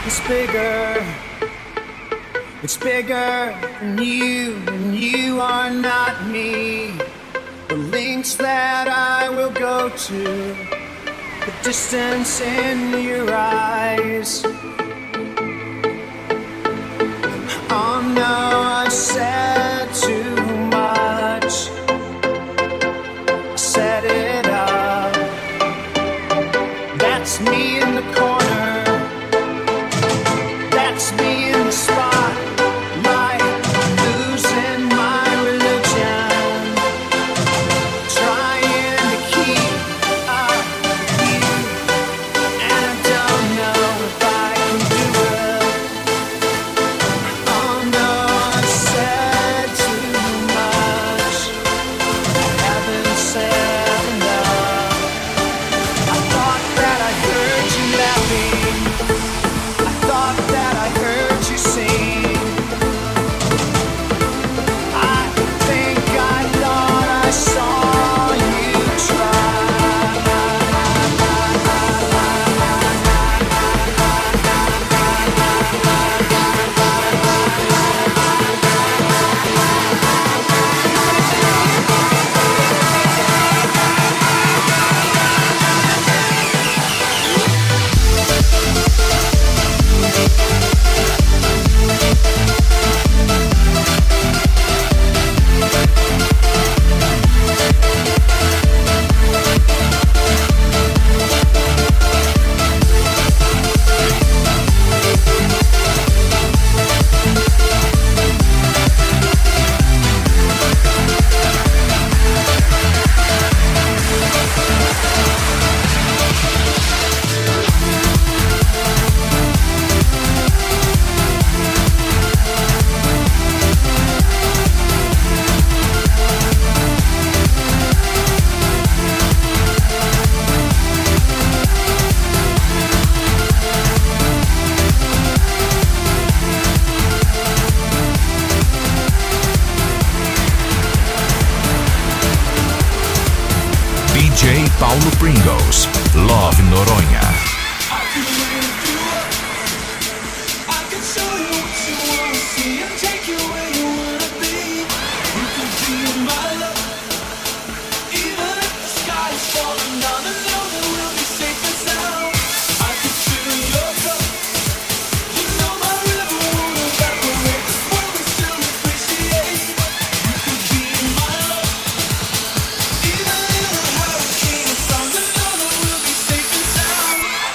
is bigger. It's bigger than you, and you are not me. The lengths that I will go to, the distance in your eyes. Oh no, I've said too much. I set it up. That's me in the corner. That's me in the spotlight, losing my religion, trying to keep up with you, and I don't know if I can do it. Oh no, I've said too much. I haven't said enough. I thought that I heard you laughing. I thought that I heard you sing. I think I thought I saw you DJ Paulo Pringles, Love Noronha. Even in a hurricane, it's on the know that we'll be safe and sound.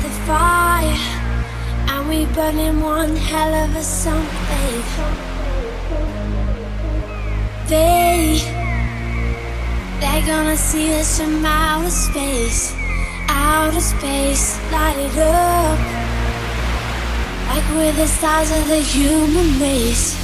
the fire, and we burning one hell of a something. They're gonna see us from outer space, light it up, like we're the stars of the human race.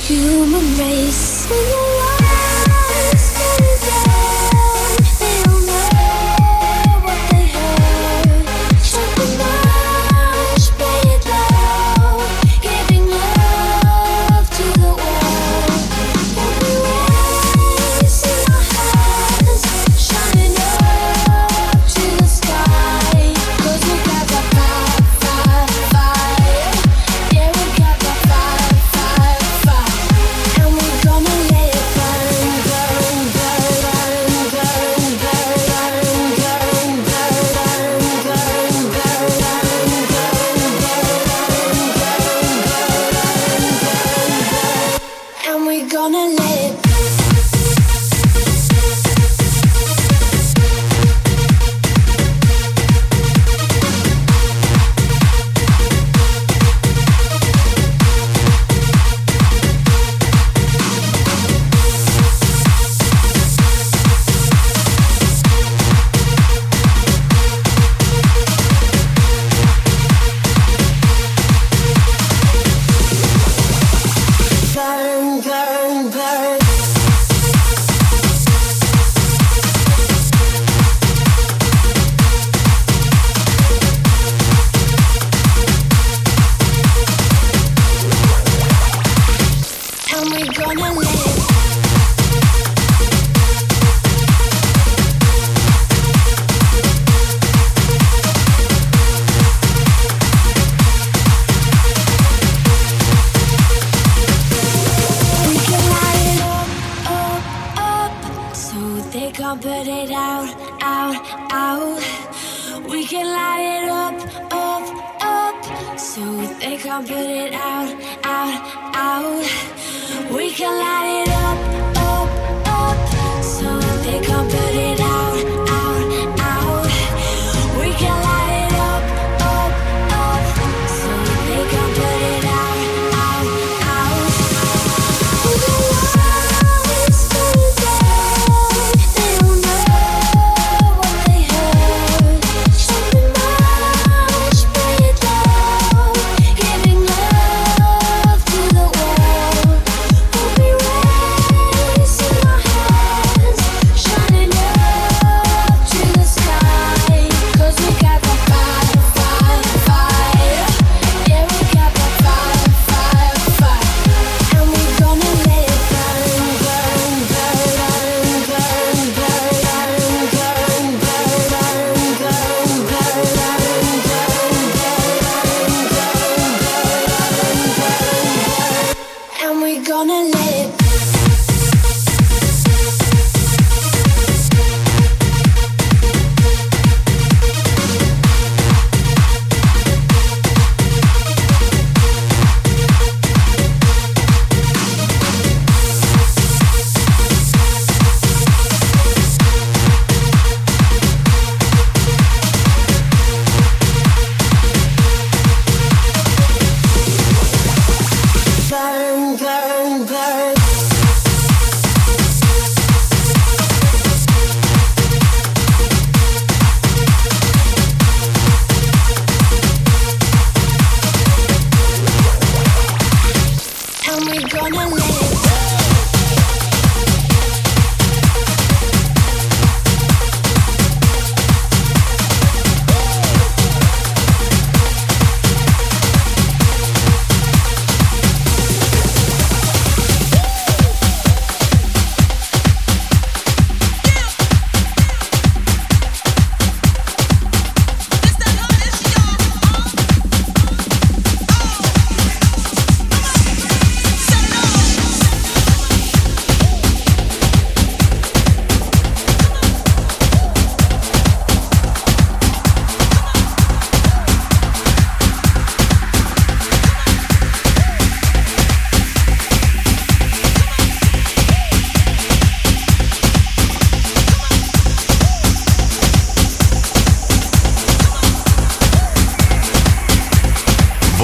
When your lights go down, they don't know what they heard. Shut the match, play it loud, giving love to the world. Every race in our hands, shining up to the sky. 'Cause we got that fire, fire, fire. Yeah, we got that fire, fire, fire. And we're gonna let it burn, burn, burn, burn, burn, burn, burn, burn, burn, burn, and we're gonna let it burn, burn, burn. And we're gonna let it We can light it up, up, so they can't put it out, out, out. We can light it up, up, so they can't put it out, out, out. We can light it up, up, so they can't put it out, out, out. We can light it up, so they can't put it out, out, out. Shining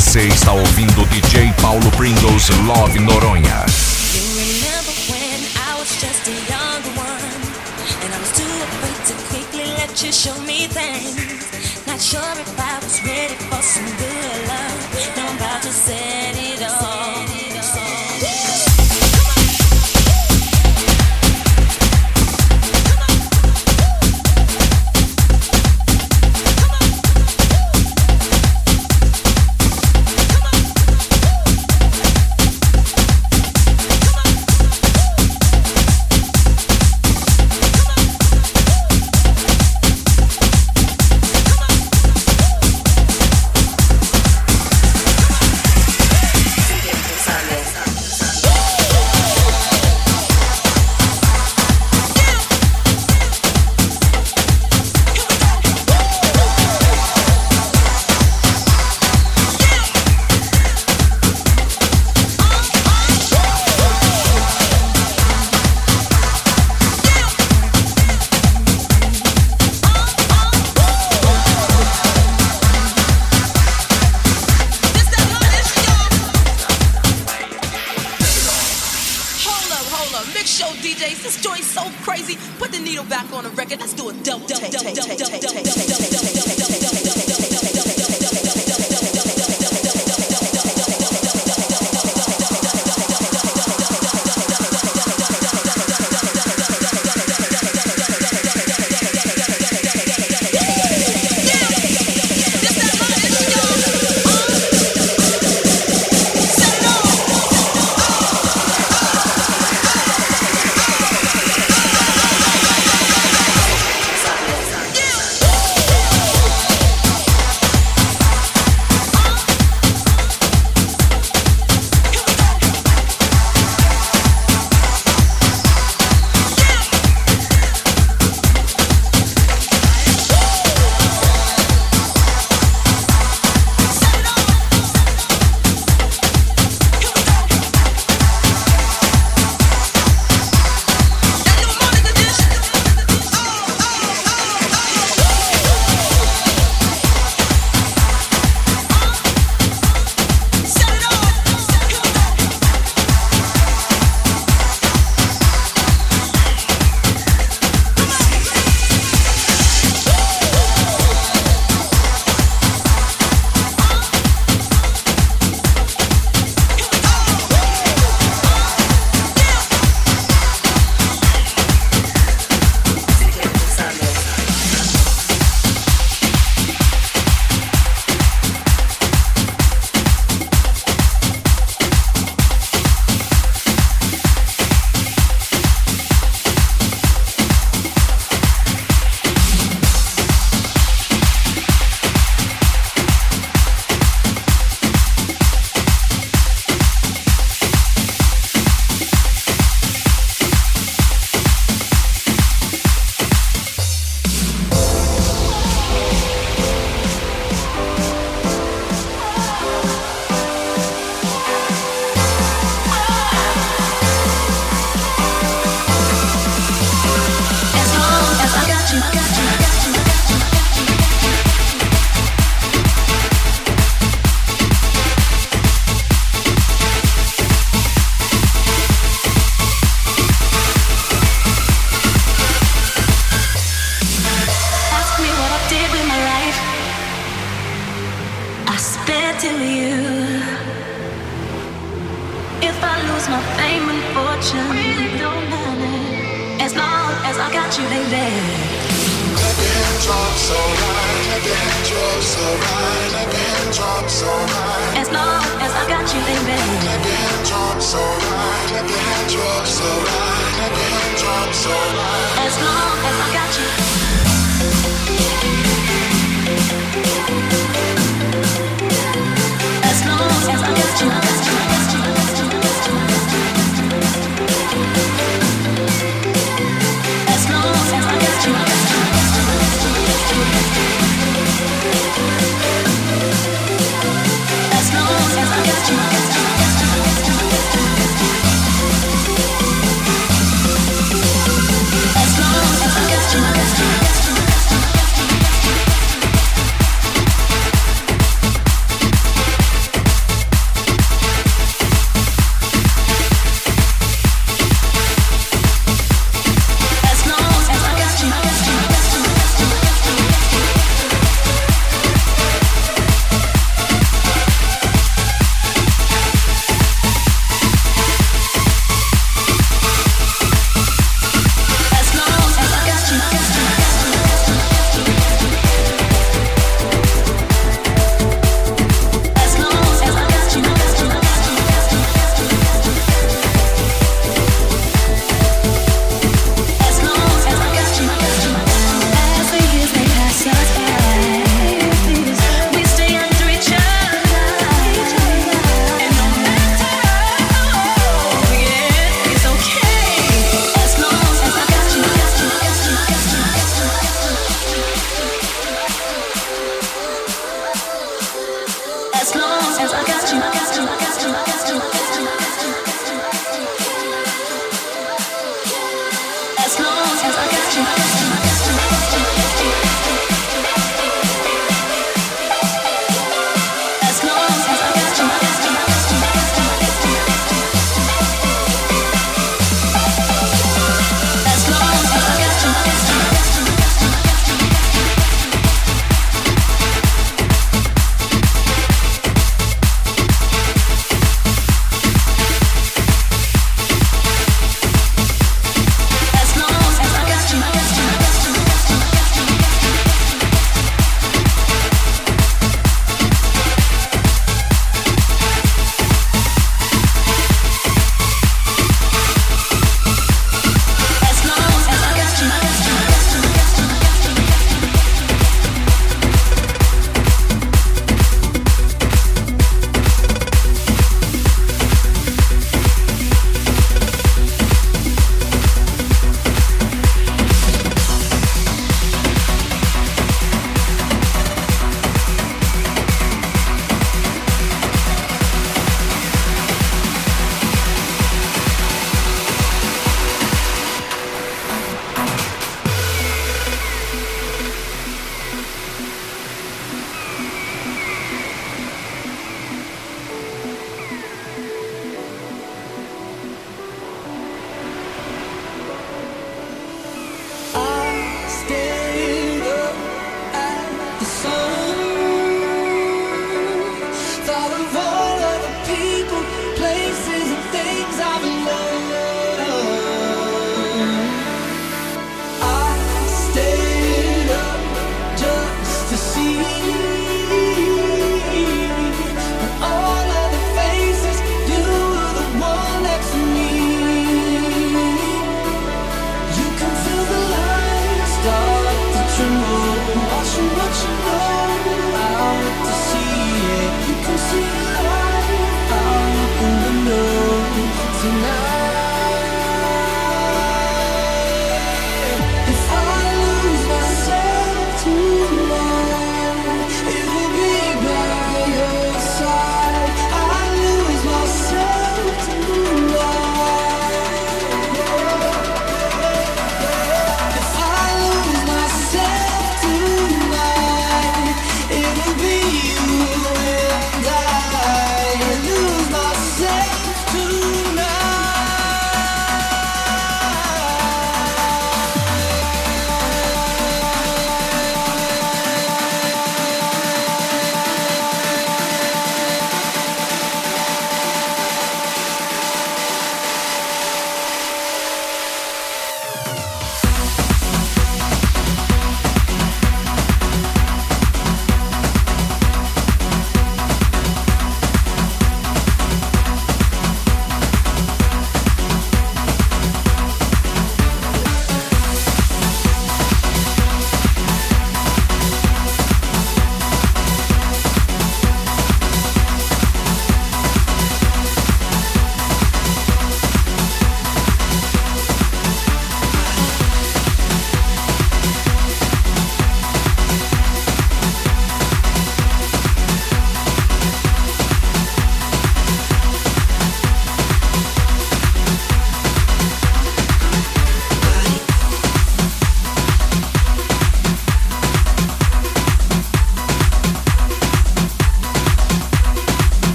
Você está ouvindo o DJ Paulo Pringles Love Noronha. You remember when I was just a young one, and I was too afraid to quickly let you show me things. Not sure if I was ready for some good love. Now I'm about to set it off.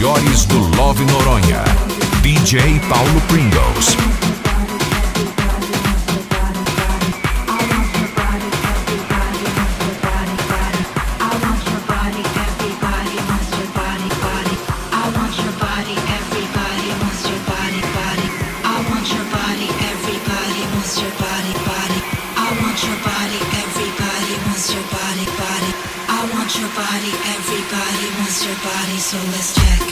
melhores do Love Noronha. DJ Paulo Pringles. So let's check.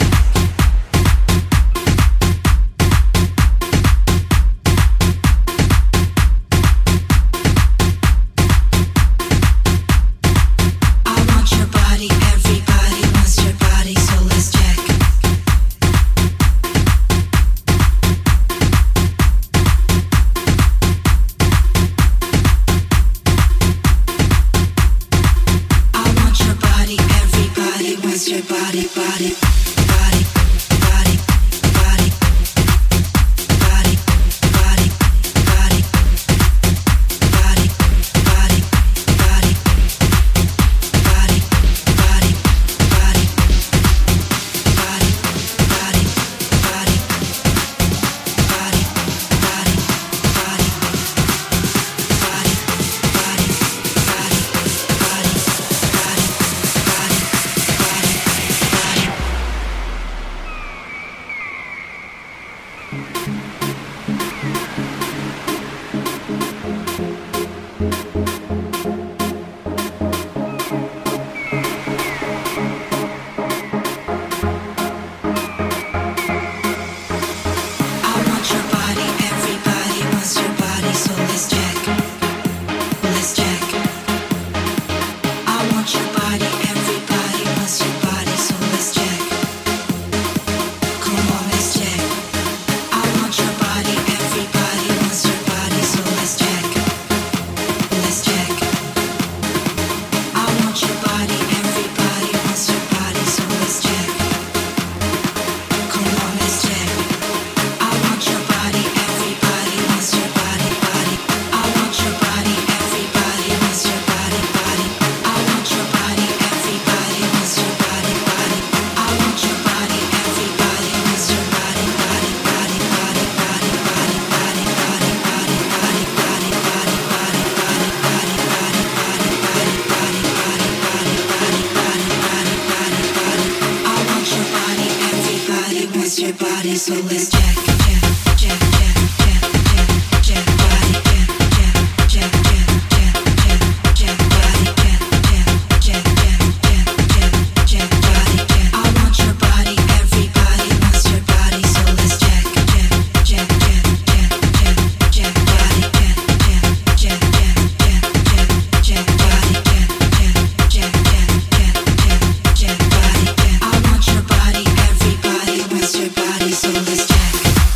Your body, so let's check.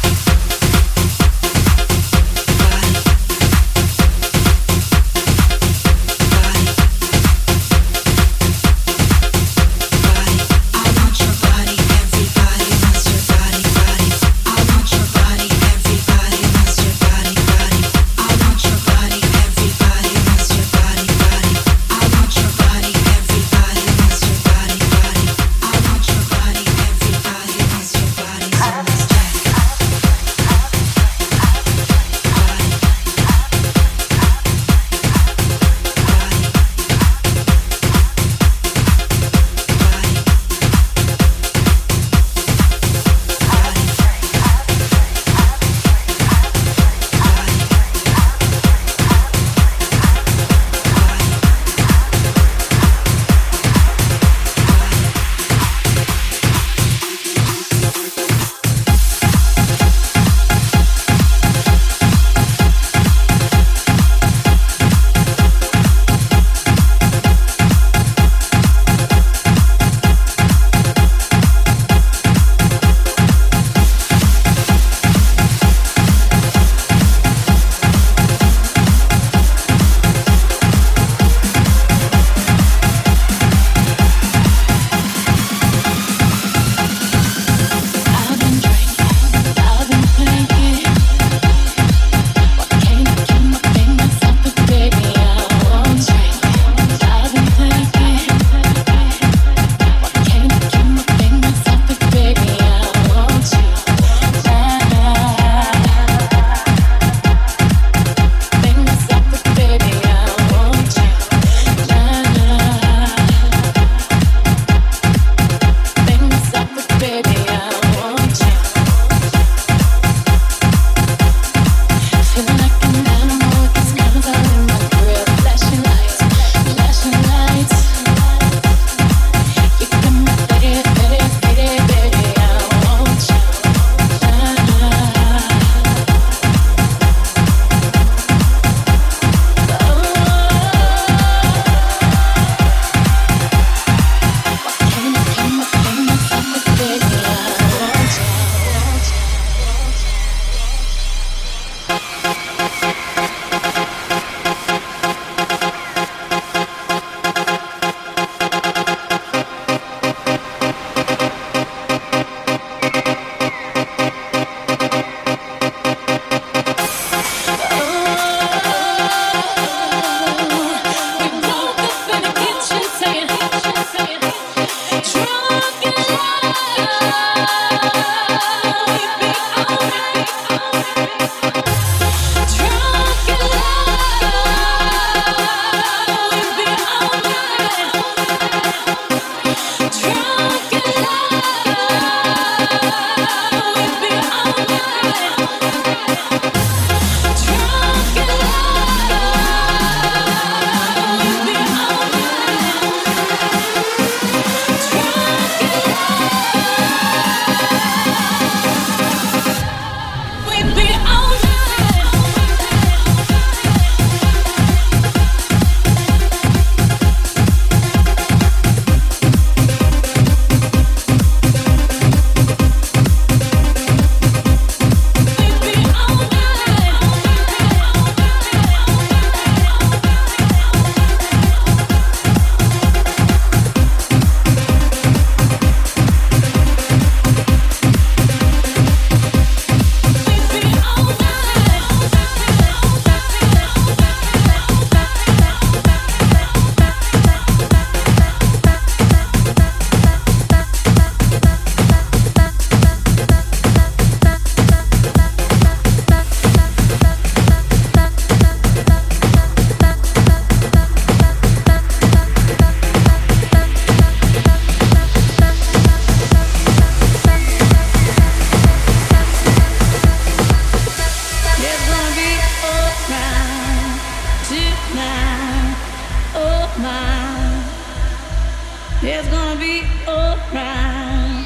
It's gonna be alright.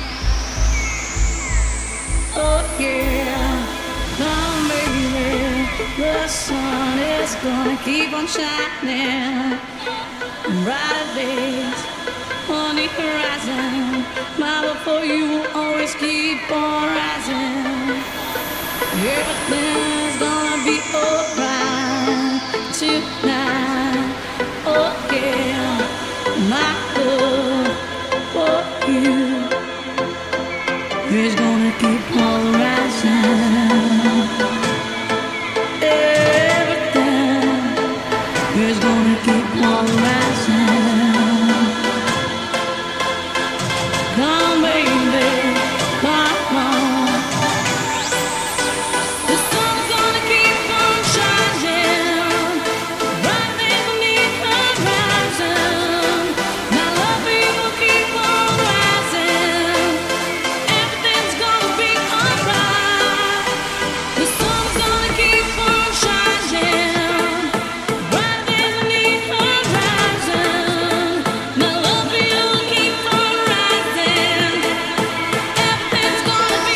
Oh yeah, come baby, the sun is gonna keep on shining. Brighter days on the horizon. My love for you will always keep on rising. Everything's gonna be alright tonight. Oh yeah, my love for you is gonna keep on rising. Everything is gonna keep on rising. Come baby, come on. The sun's gonna keep on shining right beneath the horizon. My love for you will keep on rising. Everything's gonna be alright. The sun's gonna keep on shining right beneath the horizon. My love for you will keep on rising. Everything's gonna be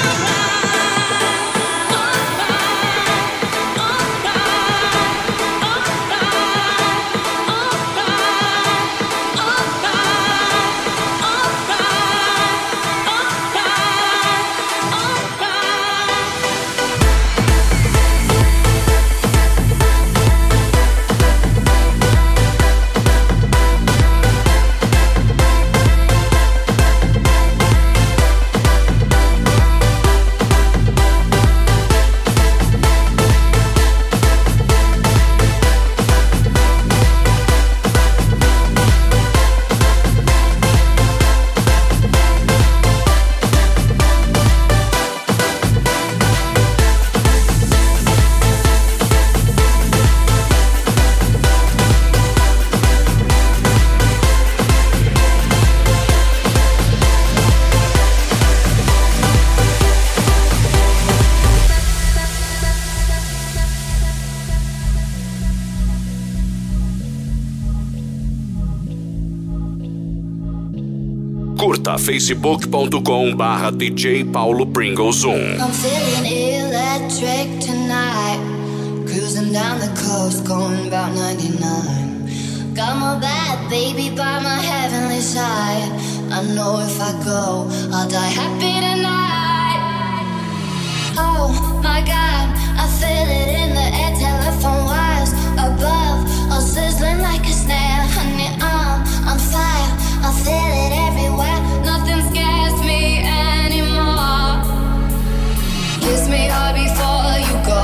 Curta facebook.com/DJ Paulo Pringles 1. I'm feeling electric tonight. Cruising down the coast, going about 99. Got my bad baby by my heavenly side. I know if I go, I'll die happy tonight. Oh my God, I feel it in the air. Telephone wires above, all sizzling like a snare. Honey, I'm on fire. I feel it everywhere. Nothing scares me anymore. Kiss me hard before you go.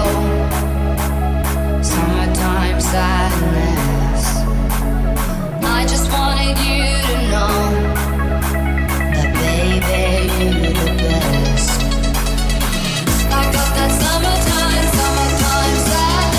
Summertime sadness. I just wanted you to know that baby, you're the best. I got that summertime sadness.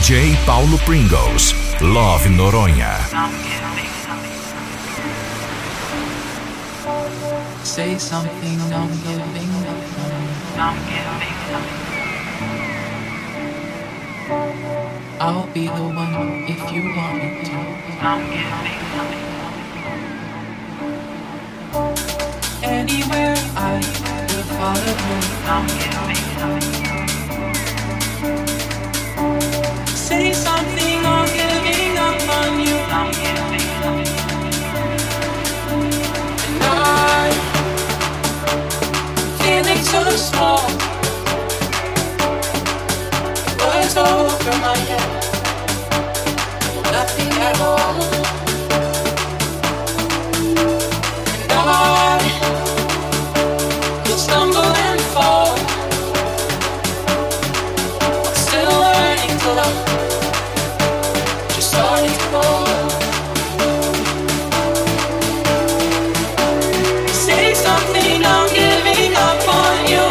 DJ Paulo Pringles, Love Noronha. Say something, I'm giving I'll be the one if you want me to. Anywhere I will follow you. Say something, I'm giving up on you. And I'm feeling so small. Words over my head, nothing at all. And I will stumble and fall, still learning to love, just starting to fall. Say something, I'm giving up on you.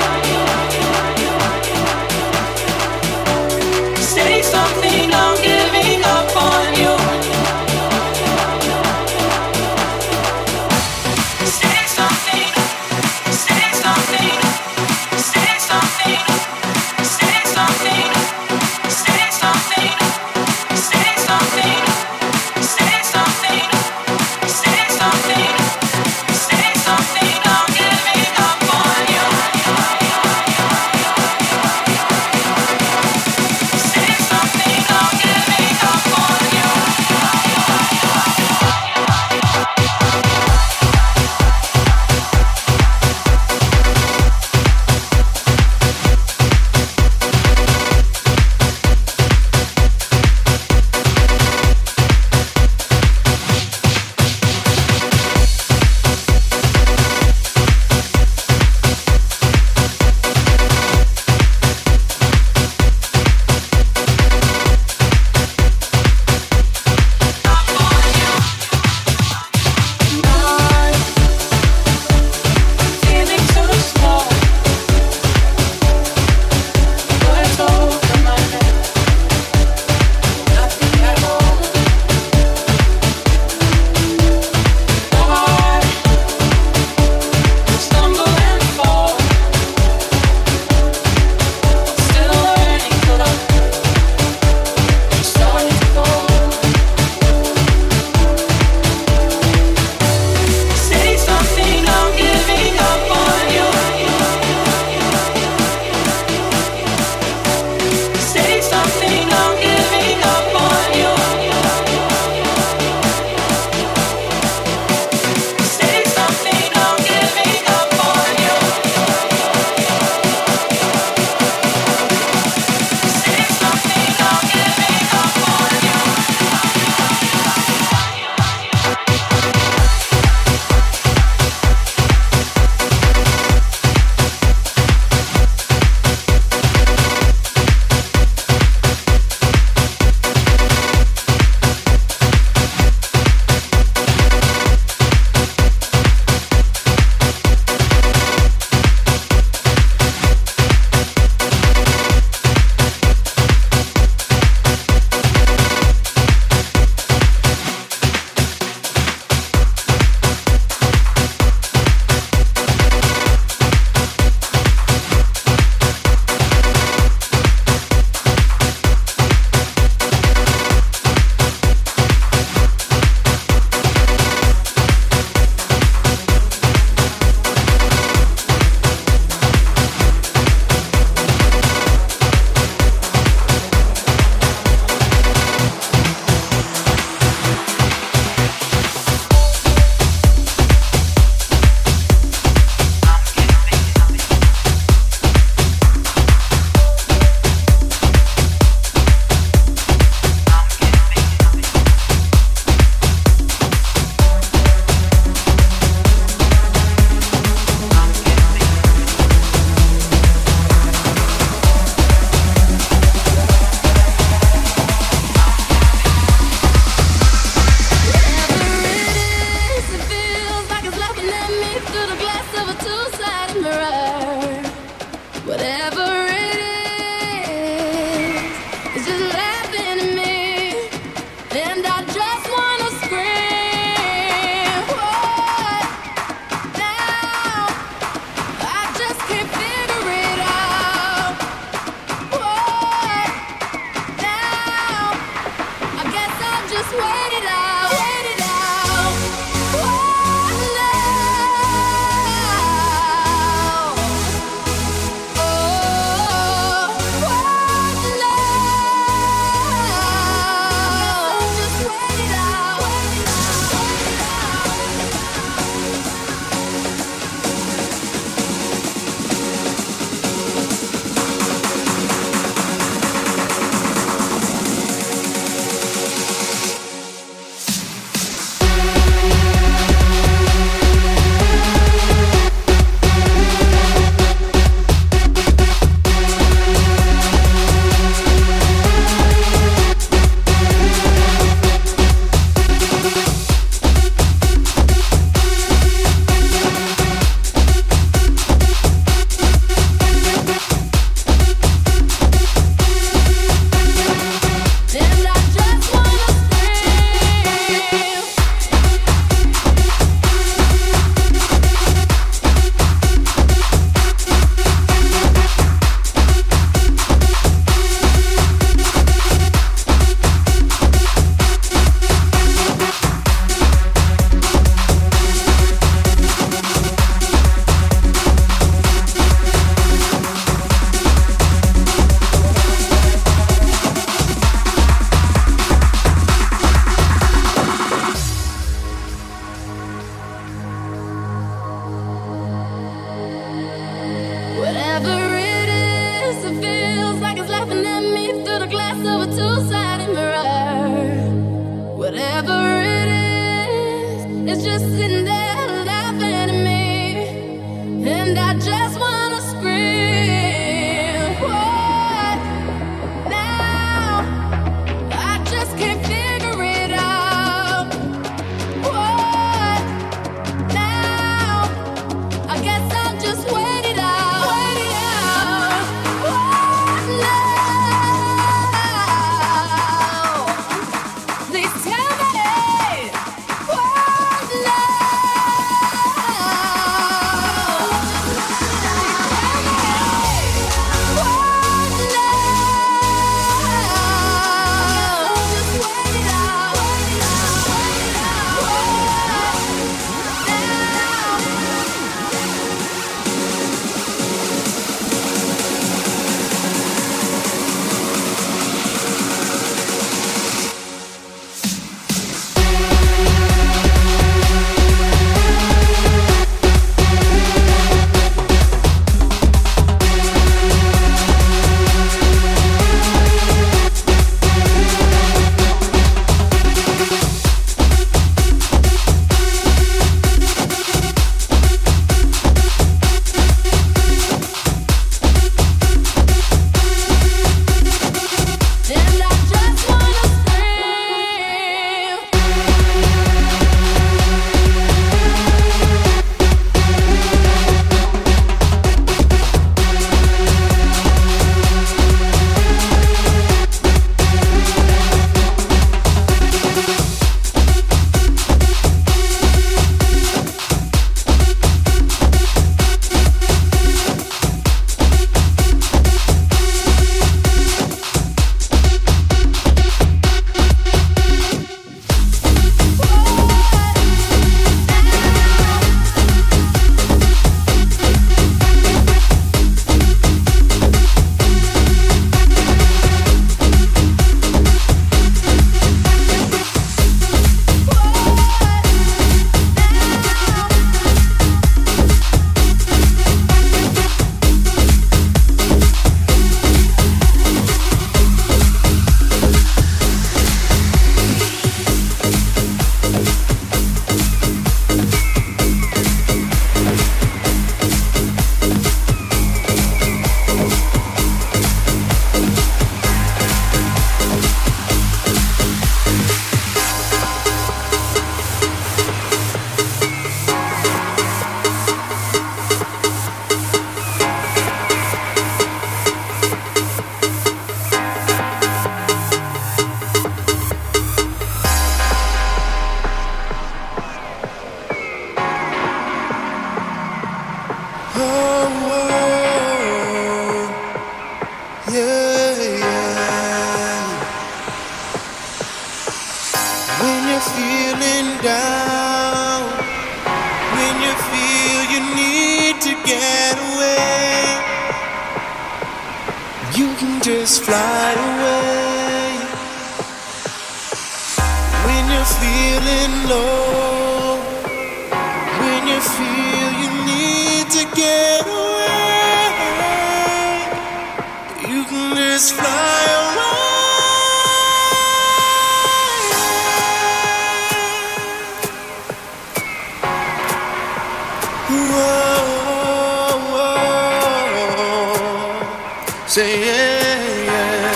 Say something, I'm giving up on you. Say something, say something, say something, say something, say something. just sitting there laughing at me, and I just wanna scream. What now? I just can't figure it out. What now? I guess I'll just wait it out. Wait it out. What now? Please tell me. What now? When you're feeling down, when you feel you need to get away, you can just fly away. When you're feeling low, when you feel you need to get away, you can just fly away. Say yeah,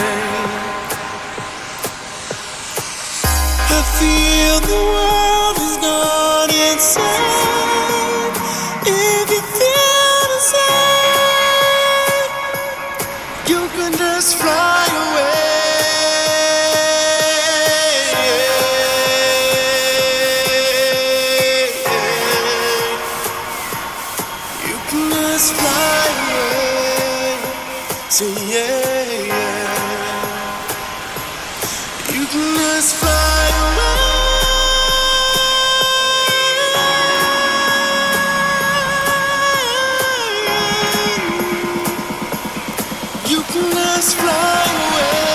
yeah. I feel the world has gone insane. If you feel the same, you can just fly away. You can just fly away. Say yeah, yeah. You can just fly away. You can just fly away.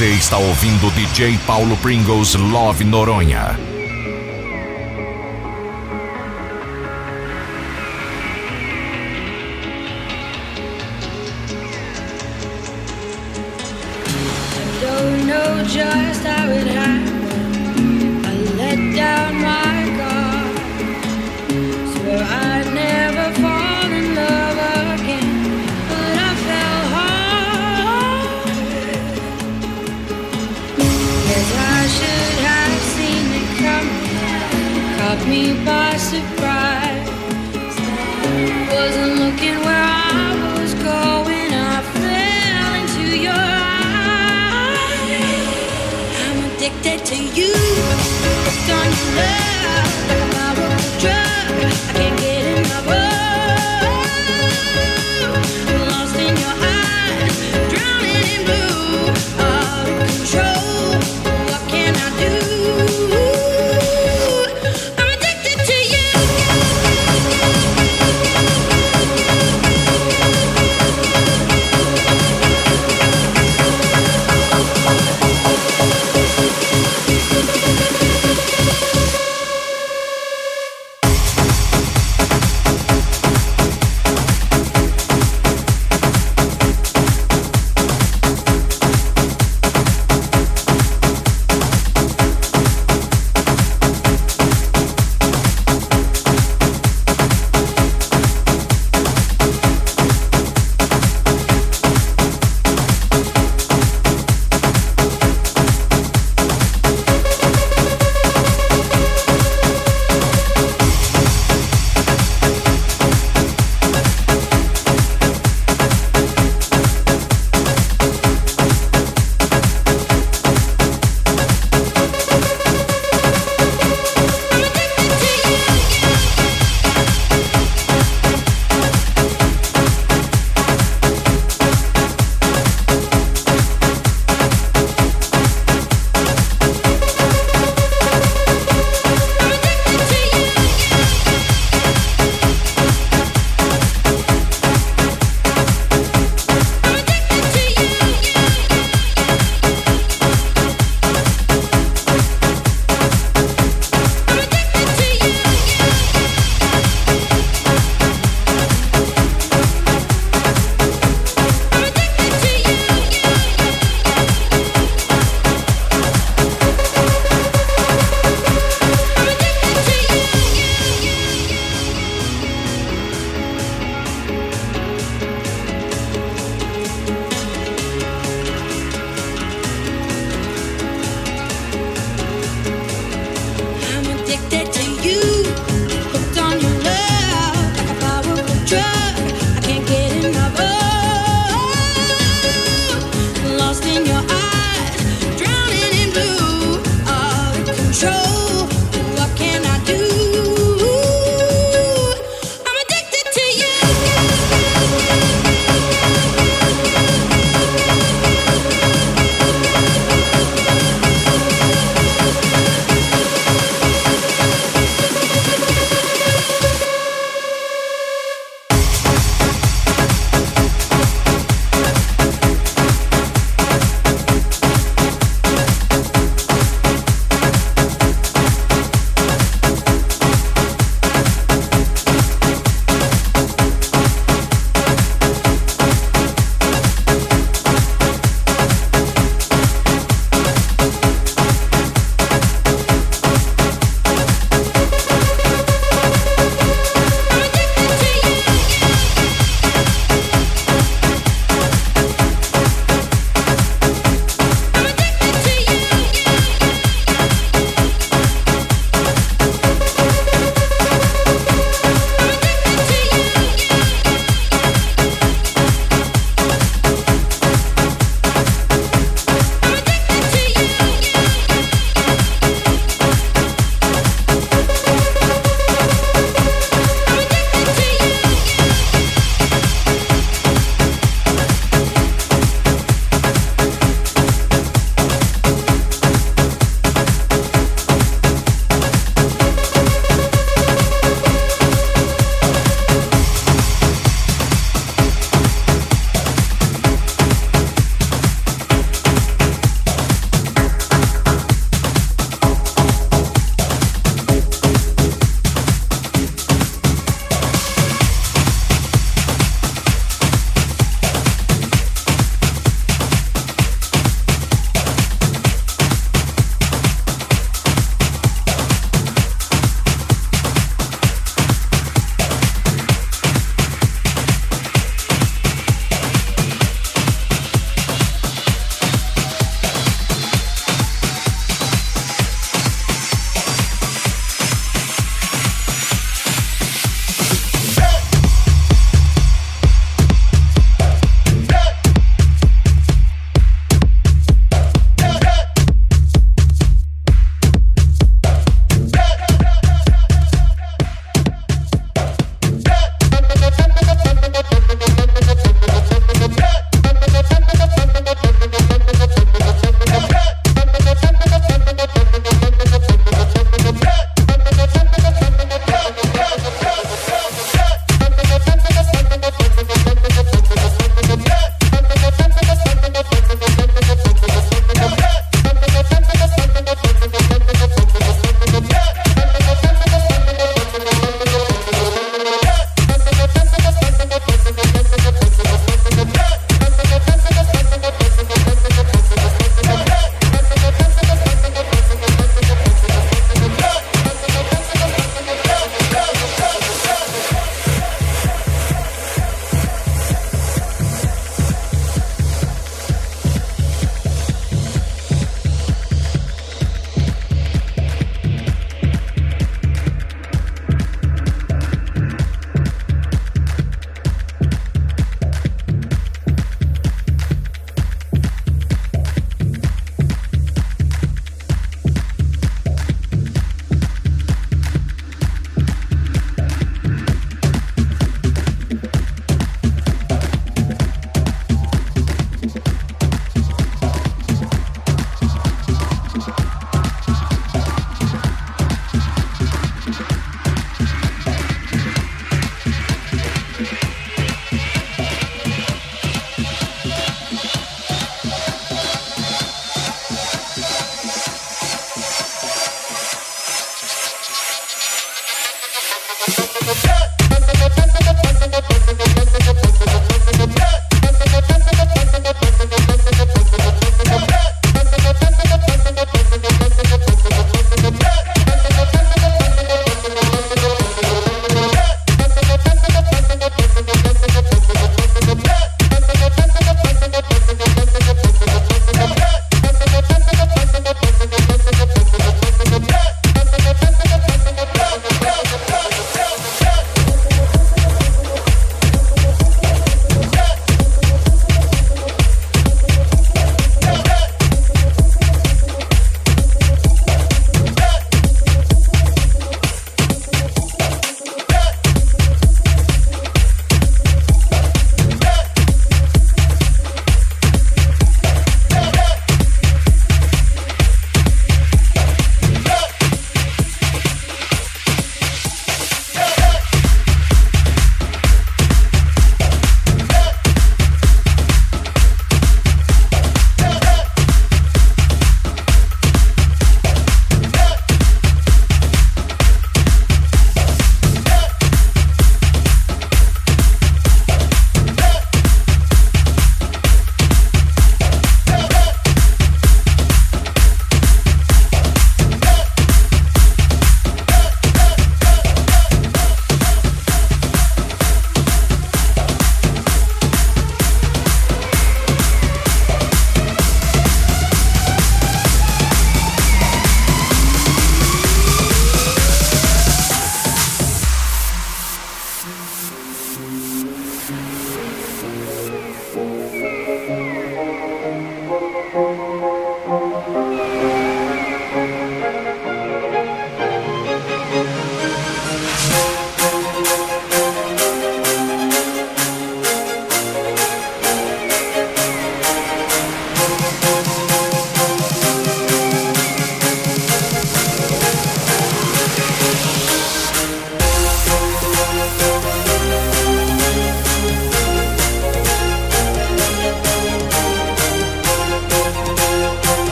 Você está ouvindo o DJ Paulo Pringles Love Noronha. Don't know just how it happened. I let down my guard. Swore I'd never fall in love again, but I fell hard. Guess I should have seen it coming. Caught me by surprise. Wasn't looking where I was going. I fell into your eyes. I'm addicted to you. Hooked on your love like a powerful drug. I can't get enough of. Lost in your eyes, drowning in blue. Out of control. What can I do? I'm addicted to you.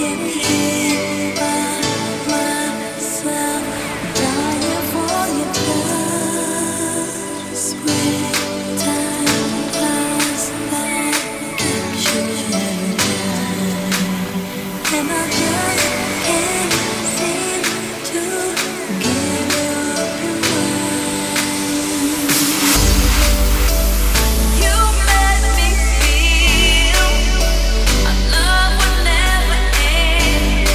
Love will never end.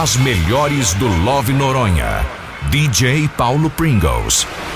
As melhores do Love Noronha. DJ Paulo Pringles.